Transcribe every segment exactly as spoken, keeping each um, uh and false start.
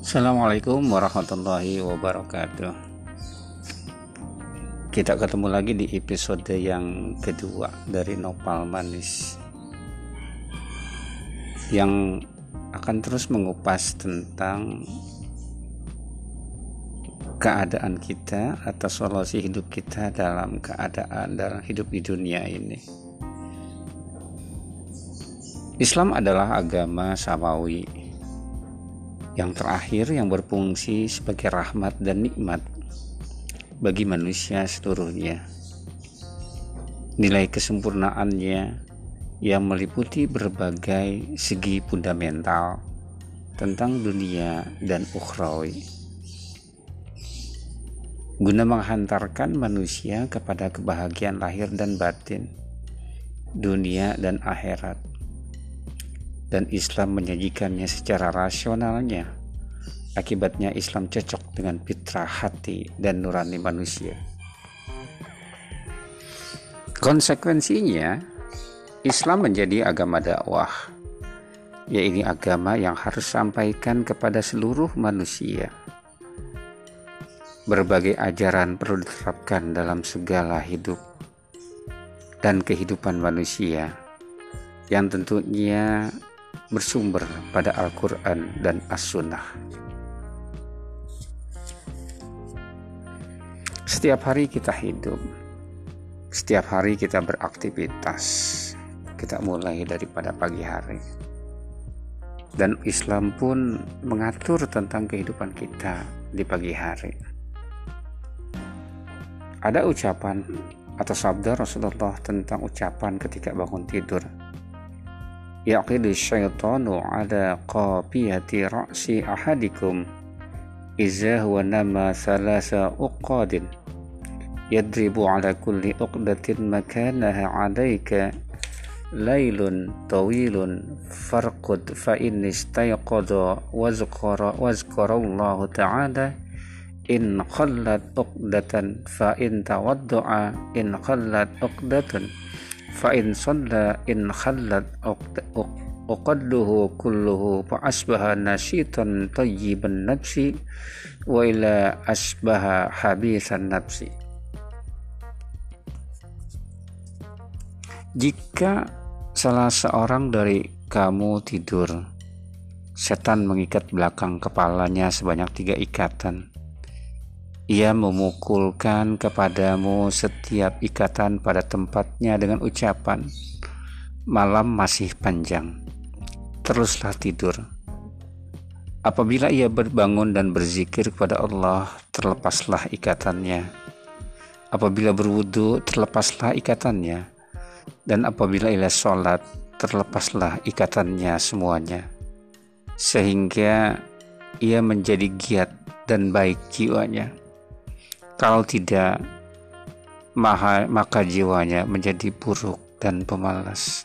Assalamualaikum warahmatullahi wabarakatuh. Kita ketemu lagi di episode yang kedua dari Nopal Manis, yang akan terus mengupas tentang keadaan kita atau solusi hidup kita dalam keadaan dalam hidup di dunia ini. Islam adalah agama samawi yang terakhir yang berfungsi sebagai rahmat dan nikmat bagi manusia seluruhnya. Nilai kesempurnaannya yang meliputi berbagai segi fundamental tentang dunia dan ukhrawi, guna menghantarkan manusia kepada kebahagiaan lahir dan batin, dunia dan akhirat. Dan Islam menyajikannya secara rasionalnya. Akibatnya Islam cocok dengan fitrah hati dan nurani manusia. Konsekuensinya, Islam menjadi agama dakwah, yaitu agama yang harus sampaikan kepada seluruh manusia. Berbagai ajaran perlu diterapkan dalam segala hidup dan kehidupan manusia, yang tentunya bersumber pada Al-Quran dan As-Sunnah. Setiap hari kita hidup, setiap hari kita beraktivitas, kita mulai daripada pagi hari. Dan Islam pun mengatur tentang kehidupan kita di pagi hari. Ada ucapan atau sabda Rasulullah tentang ucapan ketika bangun tidur. Yaqidu syaitanu ala qafiyati ra'si ahadikum iza huwa nama thalasa uqadin yadribu ala kulli uqdatin makanaha alayka laylun tawilun farqud fa in istayqadha wazkara wazkarallahu ta'ala in khallat uqdatan fa in tawadda'a in khallat uqdatun fa in shalla in khallat uqadduhu kulluhu fa asbaha nashitan tayyiban nafsi wa ila asbaha habisan nafsi. Jika salah seorang dari kamu tidur, setan mengikat belakang kepalanya sebanyak tiga ikatan. Ia memukulkan kepadamu setiap ikatan pada tempatnya dengan ucapan, malam masih panjang, teruslah tidur. Apabila ia berbangun dan berzikir kepada Allah, terlepaslah ikatannya. Apabila berwudu, terlepaslah ikatannya. Dan apabila ia sholat, terlepaslah ikatannya semuanya. Sehingga ia menjadi giat dan baik jiwanya. Kalau tidak, maka jiwanya menjadi buruk dan pemalas.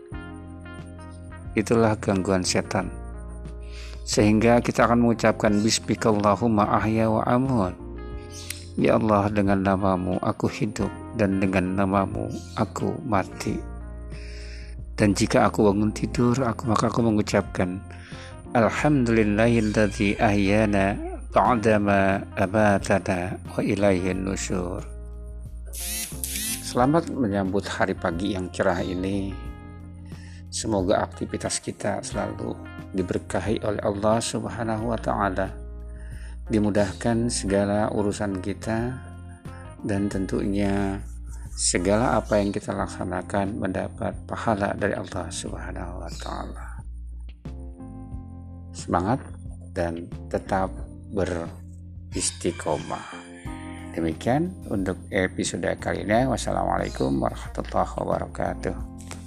Itulah gangguan setan. Sehingga kita akan mengucapkan Bismikallahumma ahya wa amut. Ya Allah, dengan namamu aku hidup, dan dengan namamu aku mati. Dan jika aku bangun tidur, aku maka aku mengucapkan Alhamdulillahilladzi ahyana ba'dama amatana wa ilaihin nusyur. Selamat menyambut hari pagi yang cerah ini. Semoga aktivitas kita selalu diberkahi oleh Allah Subhanahu wa taala. Dimudahkan segala urusan kita, dan tentunya segala apa yang kita laksanakan mendapat pahala dari Allah Subhanahu wa taala. Semangat dan tetap beristiqomah. Demikian untuk episode kali ini. Wassalamualaikum warahmatullahi wabarakatuh.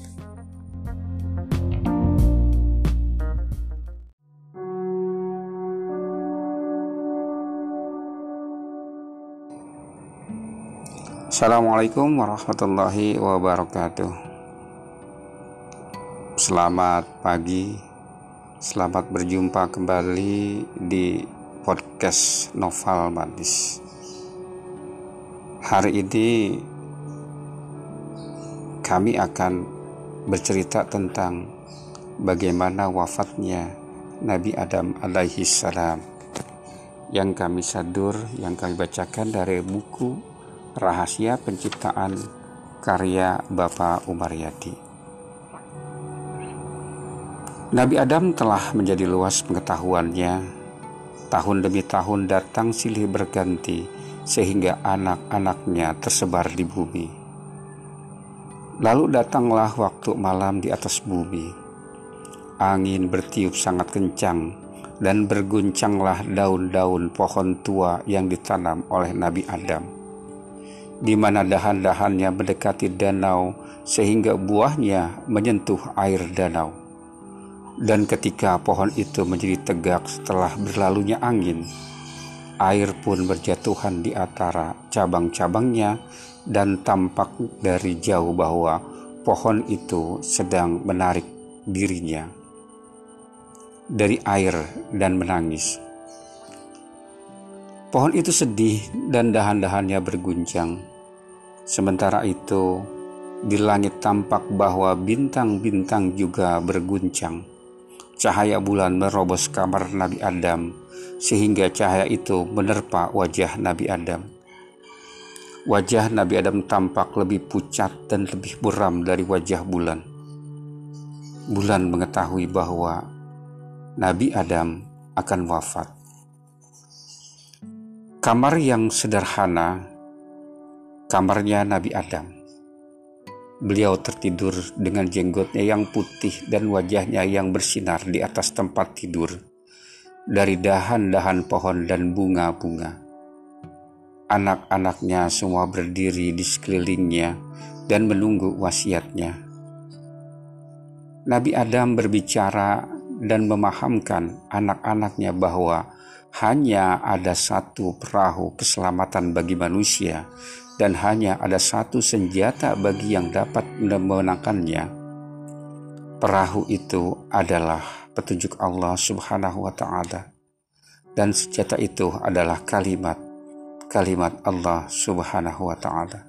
Assalamualaikum warahmatullahi wabarakatuh. Selamat pagi. Selamat berjumpa kembali di podcast Nopal Manis. Hari ini kami akan bercerita tentang bagaimana wafatnya Nabi Adam alaihi salam. yang kami sadur, yang kami bacakan dari buku Rahasia Penciptaan karya Bapak Umar Yadi. Nabi Adam telah menjadi luas pengetahuannya. Tahun demi tahun datang silih berganti sehingga anak-anaknya tersebar di bumi. Lalu datanglah waktu malam di atas bumi. Angin bertiup sangat kencang dan berguncanglah daun-daun pohon tua yang ditanam oleh Nabi Adam, di mana dahan-dahannya mendekati danau sehingga buahnya menyentuh air danau. Dan ketika pohon itu menjadi tegak setelah berlalunya angin, air pun berjatuhan di antara cabang-cabangnya dan tampak dari jauh bahwa pohon itu sedang menarik dirinya dari air dan menangis. Pohon itu sedih dan dahan-dahannya berguncang. Sementara itu, di langit tampak bahwa bintang-bintang juga berguncang. Cahaya bulan merobos kamar Nabi Adam, sehingga cahaya itu menerpa wajah Nabi Adam. Wajah Nabi Adam tampak lebih pucat dan lebih buram dari wajah bulan. Bulan mengetahui bahwa Nabi Adam akan wafat. Kamar yang sederhana, kamarnya Nabi Adam. Beliau tertidur dengan jenggotnya yang putih dan wajahnya yang bersinar di atas tempat tidur dari dahan-dahan pohon dan bunga-bunga. Anak-anaknya semua berdiri di sekelilingnya dan menunggu wasiatnya. Nabi Adam berbicara dan memahamkan anak-anaknya bahwa hanya ada satu perahu keselamatan bagi manusia dan hanya ada satu senjata bagi yang dapat memenangkannya. Perahu itu adalah petunjuk Allah Subhanahu wa Ta'ala, dan senjata itu adalah kalimat kalimat Allah Subhanahu wa Ta'ala.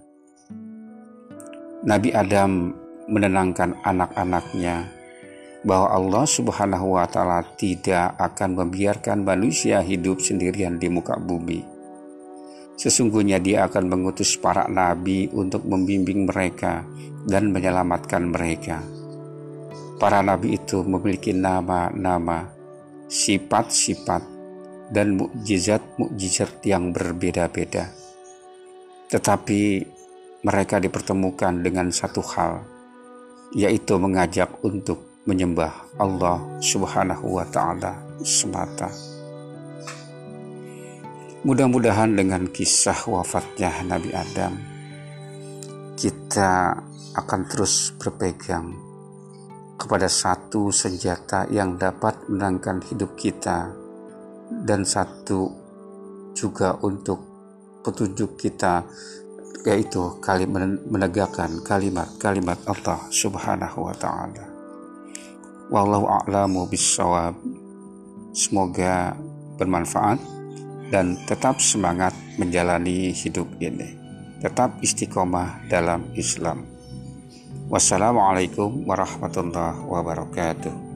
Nabi Adam menenangkan anak-anaknya bahwa Allah Subhanahu wa Ta'ala tidak akan membiarkan manusia hidup sendirian di muka bumi. Sesungguhnya Dia akan mengutus para nabi untuk membimbing mereka dan menyelamatkan mereka. Para nabi itu memiliki nama-nama, sifat-sifat, dan mukjizat-mukjizat yang berbeda-beda. Tetapi mereka dipertemukan dengan satu hal, yaitu mengajak untuk menyembah Allah Subhanahu wa Ta'ala semata. Mudah-mudahan dengan kisah wafatnya Nabi Adam, kita akan terus berpegang kepada satu senjata yang dapat menangkan hidup kita, dan satu juga untuk petunjuk kita, yaitu kalimat menegakkan kalimat-kalimat Allah Subhanahu wa Ta'ala. Wallahu a'lamu bissawab. Semoga bermanfaat dan tetap semangat menjalani hidup ini. Tetap istiqomah dalam Islam. Wassalamualaikum warahmatullahi wabarakatuh.